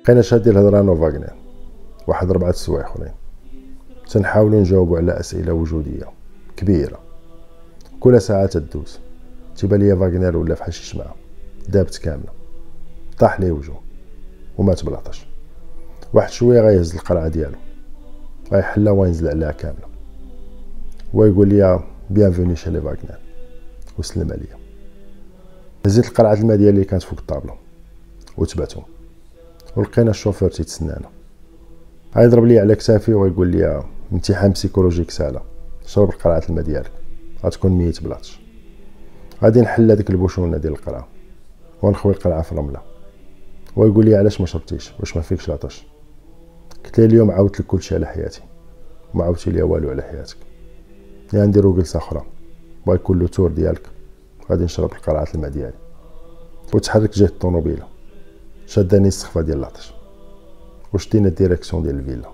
بقينا شادين الهضره انا وفاغنر واحد 4 سوايع اخرين، تنحاولوا نجاوبوا على اسئله وجوديه كبيره. كل ساعه تدوز تيبان ليا فاغنر ولا فحال شي شمعه دابت كامله، طاح ليه وجهه ومات بلاطاش. واحد شويه غيهز القرعه ديالو غيحلها وينزل عليها كامله ويقول لي بيانفوني شي لي فاغنر وسلم عليا. هزيت القرعه الماء ديالي اللي كانت فوق الطابله وتبعتهم، ولقينا الشوفور تيتسنانا غيضرب لي على كتافي ويقول لي امتحان بسيكولوجيك ساهله، شرب قرعه الماء ديالك غتكون ميت بلاطش. غادي نحل هذيك البوشونه ديال القرعه ونخوي القرعه في الرمله، ويقول لي علاش ما شربتيش واش ما فيكش لاطاش. قلت لي اليوم عاودت لك كلشي على حياتي وما عاودتي لي والو على حياتك، يعني نديرو جلسه اخرى ويكون له تور ديالك. غادي نشرب القرعه الماء ديالي وتحرك جهه الطوموبيله، شداني السخفه ديال لاطاش وشدينا الديريكسيون ديال الفيلا.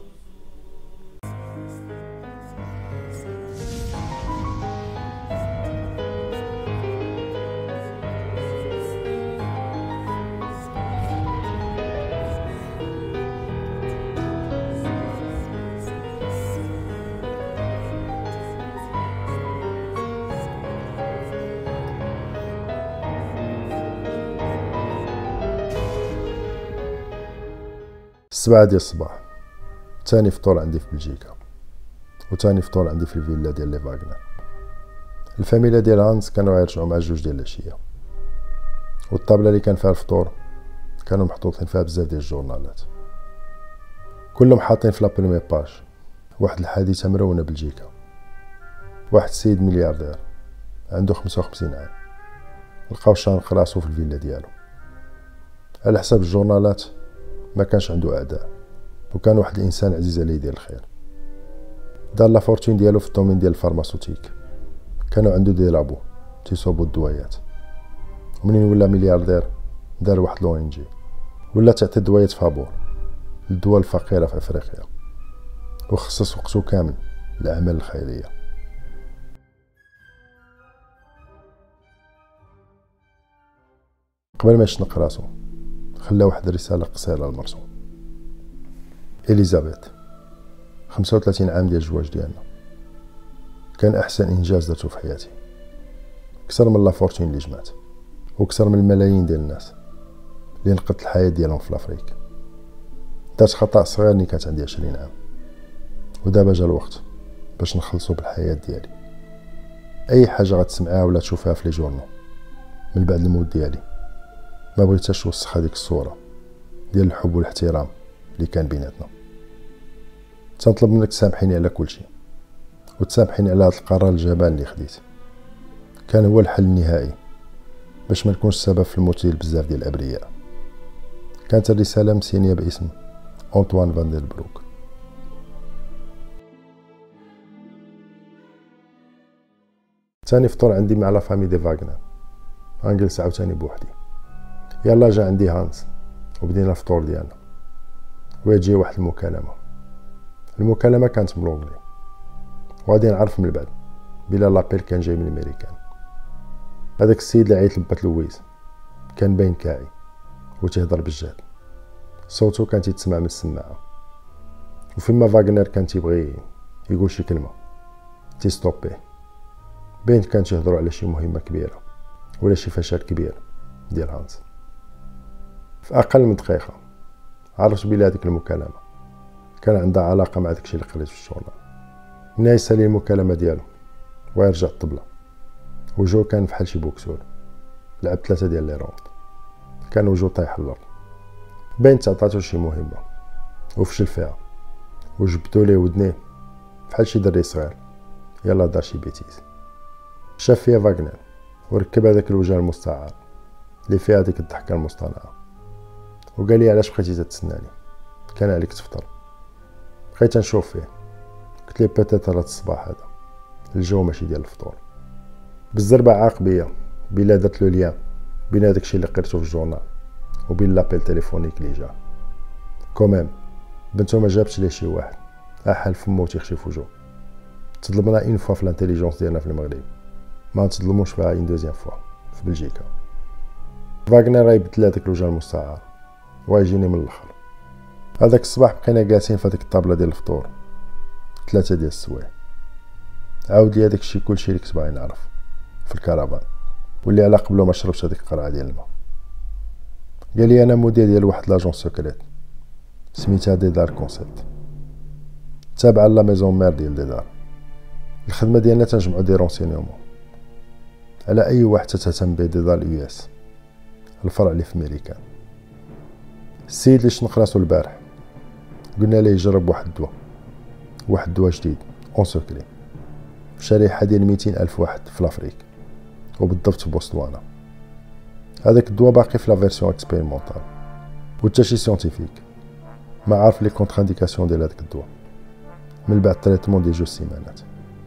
السبعة ديال الصباح، تاني فطور عندي في بلجيكا وتاني فطور عندي في الفيلا ديال لي فاغنر. الفاميلا ديال هانز كانوا غيرجعوا مع 2 ديال العشيه، والطابله اللي كان فيها الفطور كانوا محطوطين فيها بزاف ديال الجورنالات، كلهم حاطين في لابريمي باج واحد الحادثه مرونه بلجيكا. واحد السيد ملياردير عنده 55 عام لقاو شانق راسو في الفيلا ديالو. على حساب الجورنالات ما كانش عنده اعداء وكان واحد الانسان عزيز عليه ديال الخير. دار لا فورتون ديالو في الدومين ديال الفارماسوتيك، كانوا عنده دي لابو تيصوبوا الدويات، ومنين ولا ملياردير دار واحد لو ان جي ولا تعطي دويات فابور للدول الفقيره في افريقيا وخصص وقته كامل للاعمال الخيريه. قبل ما يشنق راسو خلى واحد الرساله قصيره لمرتو اليزابيث، 35 عام ديال الزواج ديالنا، كان احسن انجاز درتو في حياتي، كثر من لا فورتون اللي جمعت وكثر من الملايين ديال الناس اللي نقذت الحياه ديالهم في الافريك. درت خطا صغير ملي كانت عندي 20 عام، ودابا جا الوقت باش نخلصوا بالحياه ديالي. اي حاجه غتسمعها ولا تشوفها في لي جورنو من بعد الموت ديالي ما بغيتهاش توسخ هذيك الصوره ديال الحب والاحترام اللي كان بيناتنا. تنطلب منك تسامحيني على كل شيء وتسامحيني على هذا القرار الجبان اللي خديت، كان هو الحل النهائي باش ما نكونش سبب في الموت ديال بزاف ديال الابرياء. كانت الرساله مسينيه باسم أنطوان فان ديل بروك. ثاني فطور عندي مع لا فامي دي فاغنر، غنجلس عاوتاني بوحدي. يلا جا عندي هانز وبدينا الفطور ديالنا ويجي واحد المكالمه كانت بالونجلي، وغادي نعرف من بعد بلا لابيل كان جاي من الامريكان. هذاك السيد اللي عيط لبات لويز كان باين كاعي وتهضر بالجهد، صوتو كان تيتسمع من السماعه، وفيما فاغنر كان تيبغي يقول شي كلمه تيستوبيه. بين كان تيهضروا على شي مهمه كبيره ولا شي فشل كبير ديال هانز. في اقل من دقيقه عرفت بلي هذيك المكالمه كان عندها علاقه مع داكشي اللي قريت في الجورنال. ملي يسالي المكالمه ديالو ويرجع الطبله، وجهو كان بحال شي بوكسور لعب 3 ديال لي روند، كان وجهو طايح الارض. باين تعطاتو شي مهمه وفشل فيها، وجبدو ليه ودنيه بحال شي دري صغير يلا دار شي بيتيز. شاف فيا فاغنر وركب هذاك الوجه المستعار اللي فيها هذيك الضحكه المصطنعه، وقال لي علاش بقيتي تتسناني، كان عليك تفطر. بقيت نشوف فيه، قلت لي بيتيت هاد الصباح هذا الجو ماشي ديال الفطور. بالزربه عاق بيا بلا درت له ليان بين هذاك الشيء اللي قريتو في الجورنال وبين لابيل تليفونيك اللي جا. كوميم بنتو ما جابتش ليه شي واحد احال فمو تيخشي في وجهو. تظلمنا اون فوا في الانتيليجونس ديالنا في المغرب، ما نتظلموش فيها اون دوزيام فوا في بلجيكا. فاغنر غيبدل هذاك الوجه المستعار ويجيني من الاخر هذاك الصباح بقينا جالسين في هذيك الطابله ديال الفطور 3 ديال السوايع. عاود لي هذاك الشيء كلشي اللي كنت باغي نعرف في الكرفان، واللي على قبله ما شربتش هذيك القرعه ديال الماء. قال لي انا مدير ديال واحد لاجون سوكريت سميتها ديدار كونسيبت، تابعه لا ميزون مير ديال ديدار. الخدمه ديالنا تنجمعوا دي رونسينيومون على اي واحد تهتم به ديدار يو اس، الفرع اللي في امريكان. السيد اللي شنق راسو البارح قلنا ليه يجرب واحد الدواء جديد اون سوكري في شريحه ديال 200 الف واحد في لافريك، وبالضبط في بوتسوانا. هذاك الدواء باقي في لا فيرسيون اكسبيريمونطال، وتا شي سيونتيفيك ما عارف لي كونترانديكاسيون ديال هذاك الدواء من بعد تريتمون ديال 2 سيمانات.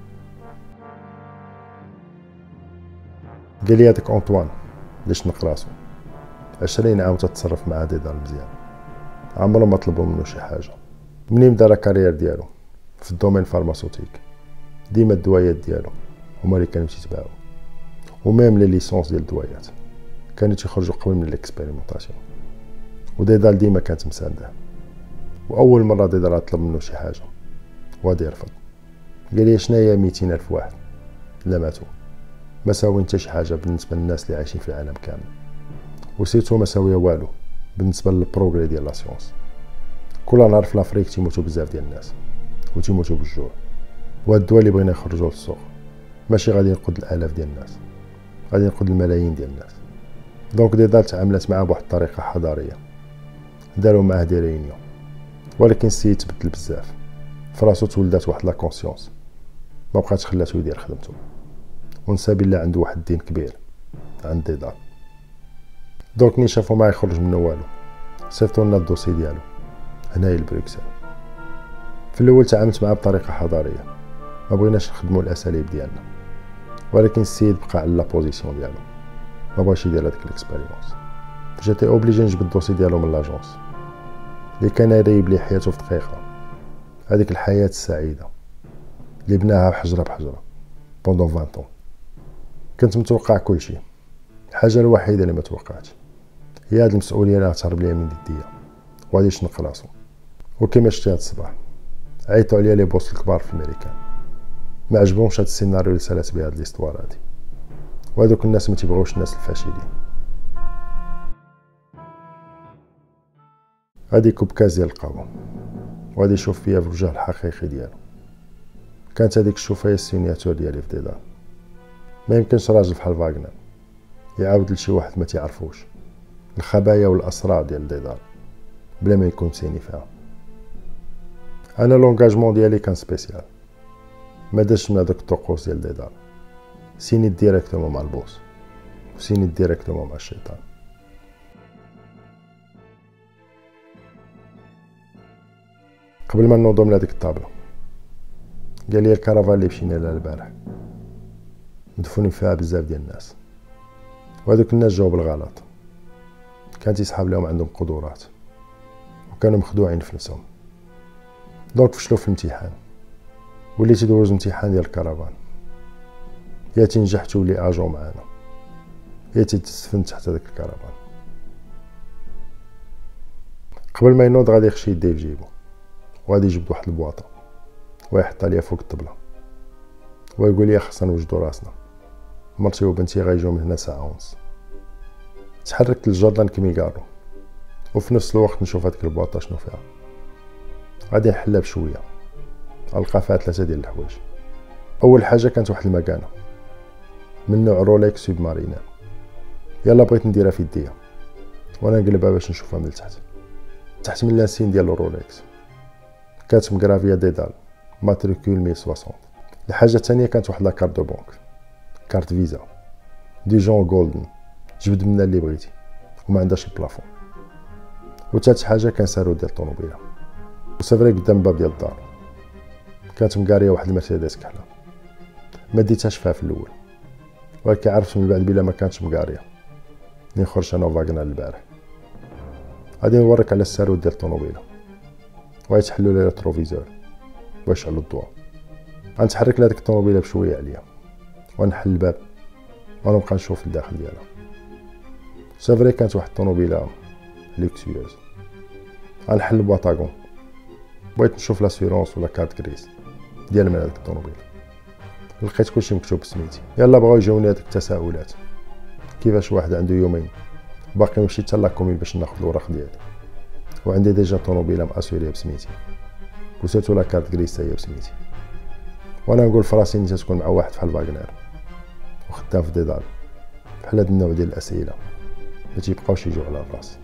قال لي هذاك انطوان اللي شنق راسو 20 عام تتصرف مع ديدار مزيان، عمرو ما طلبوا منه شي حاجه. منين بدا لا كارير ديالو في الدومين فارماسوتيك، ديما الدوايات ديالو هما اللي كانوا تيتباعوا، وميم لي ليسونس ديال الدوايات كانوا تيخرجوا قبل من الاكسبيريمونطاسيون، وديدار ديما كانت مسانده. واول مره ديدار طلب منه شي حاجه وغادي يرفض. قال لي شناهي 200 الف واحد لا ماتوا، ما ساوي حتى شي حاجه بالنسبه للناس اللي عايشين في العالم كامل، وسيرتو ما ساويه والو بالنسبه للبروغري ديال لا سيونس. كل نهار في لافريك تيموتوا بزاف ديال الناس وتيموتوا بالجوع، وهاد الدواء اللي بغينا نخرجوه للسوق ماشي غادي ينقذ الالاف ديال الناس، غادي ينقذ الملايين ديال الناس. دونك ديدار تعاملات معاه بواحد الطريقه حضاريه، داروا معاه دي ريونيون. ولكن السيد تبدل بزاف، فراسو تولدات واحد لا كونسيونس ما بقاتش خلاتو يدير خدمته، ونسى بلا عنده واحد الدين كبير عند ديدار. دونك ملي شافو ما يخرج منه والو، صيفطوا لنا الدوسي ديالو هنايا لبروكسل. في الاول تعاملت معاه بطريقه حضاريه، ما بغيناش نخدموا الاساليب ديالنا، ولكن السيد بقى على لا بوزيسيون ديالو، ما بغاش يدير هذاك الاكسبيريونس. جاتي اوبليجي نجبد الدوسي ديالو من لاجونس اللي كان يريب لي حياته في دقيقه، هذيك الحياه السعيده اللي بناها بحجره بحجره بوندون 20 طون. كنت متوقع كل شيء، الحاجه الوحيده اللي ما توقعتش هي هاد المسؤوليه اللي غتهرب ليا من يديا وغادي يشنق راسو. وكما شتي هاد الصباح عيطوا عليا لي بوس الكبار في امريكان، ما عجبهمش هاد السيناريو اللي سالات بها هاد ليستوار هادي، وهادوك الناس ما تيبغيوش الناس الفاشلين. غادي يكب كاس ديال القهوه وغادي يشوف فيا في الوجه الحقيقي ديالو. كانت هذيك الشوفه هي السيناتور ديالي في ديدار. ما يمكنش راجل بحال فاغنر يعاود لشي واحد ما تعرفوش الخبايا والاسرار ديال ديدار بلا ما يكون سيني فيها. انا لونغاجمون ديالي كان سبيسيال، ما داش مع داك الطقوس ديال ديدار، سينيت ديريكتومون مع البوس وسينيت ديريكتومون مع الشيطان. قبل ما نوضو من هذيك الطابله قال لي الكرفان اللي مشينا لها البارح مدفونين فيها بزاف ديال الناس، وهذوك الناس جاو بالغلط، كان تيسحاب لهم عندهم قدرات وكانوا مخدوعين في نفسهم. دونك فشلوا في الامتحان، وليت تدوز الامتحان ديال الكرفان، يا تنجح تولي اجو معانا يا تتسفن تحت هذاك الكرفان. قبل ما ينوض غادي يخشي يديه في جيبو وغادي يجبد واحد البواطه ويحطها ليا فوق الطبله ويقول لي خصنا نوجدو راسنا، مرتي وبنتي غيجيو من هنا ساعه ونص. تحركت للجردان كيميغارو وفي نفس الوقت نشوف هذيك البواطه شنو فيها. غادي نحلها بشويه، القى فيها 3 ديال الحوايج. اول حاجه كانت واحد المكانه من نوع روليكس سوب مارينان، يلا بغيت نديرها في يديا وانا نقلبها باش نشوفها من تحت من لانسين ديال روليكس كانت مغرافيه ديدال ماتريكول 1060. الحاجه الثانيه كانت واحد لاكارت دو بونك، كارت فيزا ديجون جولدن، جبد منها اللي بغيتي وما عندهاش البلافون. وثالث حاجه كان سارو ديال الطوموبيله، وسافري قدام الباب ديال الدار كانت مقاريه واحد المرسيدس كحله. ما ديتهاش فيها في الاول، ولكن عرفت من بعد بلا ما كانتش مقاريه ملي خرجت انا وفاغنر البارح. غادي نوريك على السارو ديال الطوموبيله ويتحلوا لي الريتروفيزور ويشعلوا الضوء. غنتحرك لهاديك الطوموبيله بشويه عليا ونحل الباب ونبقى نشوف الداخل ديالها. سافري كانت واحد الطوموبيله لوكسيوز، غنحل البواطاغون، بغيت نشوف لاسيرونس ولا كارت كريس ديال من هذيك الطوموبيل. لقيت كلشي مكتوب بسميتي. يلا بغاو يجاوني هذيك التساؤلات، كيفاش واحد عنده يومين باقي مشيت حتى لاكومين باش ناخذ الوراق ديالي، وعندي ديجا طوموبيله ماسوريه بسميتي، وسيرتو لا كارت كريس هي بسميتي، وانا نقول فراسي انت تكون مع واحد بحال فاغنر وخدام في ديدال. بحال هاد النوع ديال الاسئله ما تيبقاوش يجيو على الراس.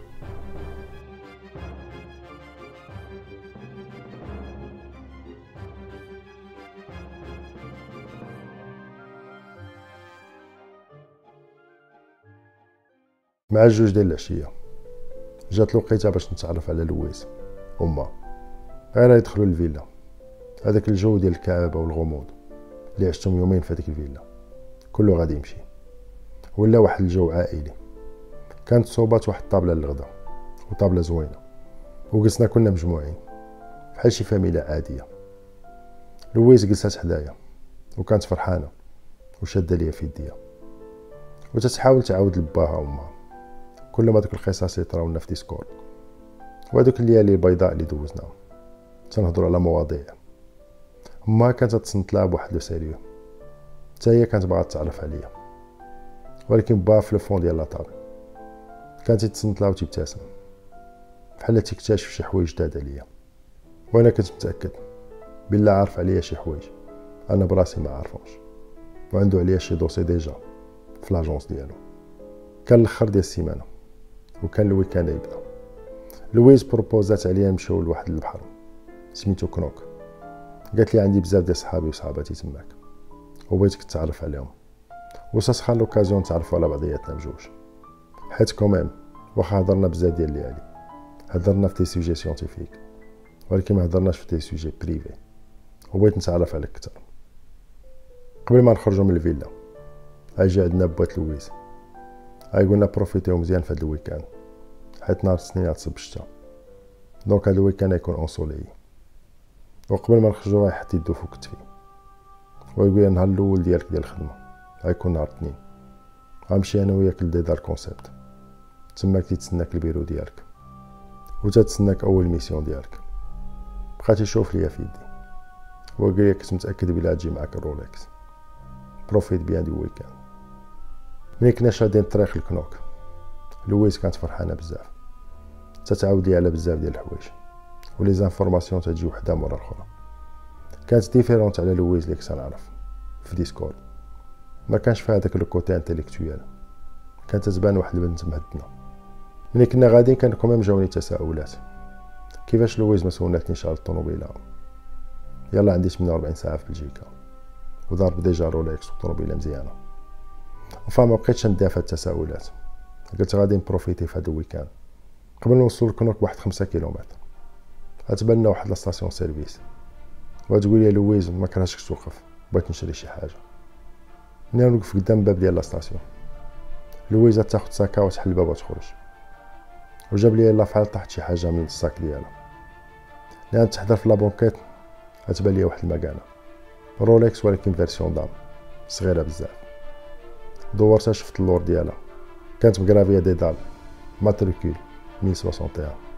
مع الجوج ديال العشيه جات الوقيته باش نتعرف على لويز وما. غير يدخلوا للفيلا، هذاك الجو ديال الكآبه والغموض اللي عشتهم يومين في هذيك الفيلا كله غادي يمشي، ولا واحد الجو عائلي. كانت صوبات واحد الطابله للغدا وطابله زوينه، وجلسنا كنا مجموعين بحال شي فاميله عاديه. لويز جلسات حدايا وكانت فرحانه وشاده ليا في يديا وتتحاول تعاود لباها وامها كل ما دوك القصص يطراونا في ديسكورد، وهذوك الليالي البيضاء اللي دوزناهم تنهضروا على مواضيع. امها كانت تصنت لها بواحد لو سيريو، حتى هي كانت باغا تتعرف عليا، ولكن با في الفون ديال لاطابل كانت تصنت لها وتبتسم بحال تكتشف شي حوايج جداد عليا، وانا كنت متاكد بالله عارف عليا شي حوايج انا براسي ما عارفهمش، وعنده عليا شي دوسي ديجا في لاجونس ديالو. كان الاخر ديال السيمانه وكان الويكاند يبدا. لويز بروبوزات عليا نمشيو لواحد البحر سميتو كنوك. قالت لي عندي بزاف ديال صحابي وصحاباتي تماك وبغيتك تتعرف عليهم، وساسخا لوكازيون نتعرفوا على بعضياتنا بجوج، حيت كوميم واخا هضرنا بزاف ديال الليالي هضرنا في تي سوجي سيونتيفيك، ولكن ما هضرناش في تي سوجي بريفي، وبغيت نتعرف عليك اكثر. قبل ما نخرجوا من الفيلا جا عندنا بوات لويز، قلنا بروفيتيو مزيان في هذا الويكاند حيت نهار الاثنين تصب الشتا، دونك هذا الويكاند يكون اونسولي. وقبل ما نخرجوا رايح حتى يدو فوق كتفي، ويقول النهار الاول ديالك ديال الخدمه غيكون نهار الاثنين، غنمشي انا وياك لديدار كونسيبت، تماك تيتسناك البيرو ديالك وتتسناك اول ميسيون ديالك. بقى تيشوف ليا في يدي وقال لي كنت متاكد بلا تجي معاك الرولكس، بروفيت بيان دي ويكاند. ملي كنا شادين الطريق الكنوك لويز كانت فرحانه بزاف، تتعاود لي على بزاف ديال الحوايج ولي زانفورماسيون تجي وحده مورا الاخرى. كانت ديفيرونت على لويز اللي كنت نعرف في ديسكورد، ما كانش فيها داك لو كوتي انتيليكتويال، كانت تبان واحد البنت مهدنه. ملي كنا غاديين كان كوميم جاوني تساؤلات، كيفاش لويز ما سولاتنيش على الطوموبيله. يلا عندي 48 ساعه في بلجيكا وضارب ديجا رولكس وطوموبيله مزيانه، وفما بقيتش ندير في التساؤلات. قلت غادي نبروفيتي في هذا الويكاند. قبل ما نوصلوا لكنوك بواحد 5 كيلومتر غتبان واحد لاستاسيون سيرفيس، وتقول لي لويز ما كرهتش توقف، بغيت نشري شي حاجه. ملي نوقف قدام الباب ديال لاستاسيون لويز تاخذ ساكا وتحل الباب وتخرج، وجاب لي لافعال طاحت شي حاجه من الساك ديالها، لان تحضر في لابونكيت غتبان لي واحد المكانه رولكس ولكن فيرسيون دام صغيره بزاف. دورتها شفت اللور ديالها كانت مكرافيه ديدال ماتريكول 1061.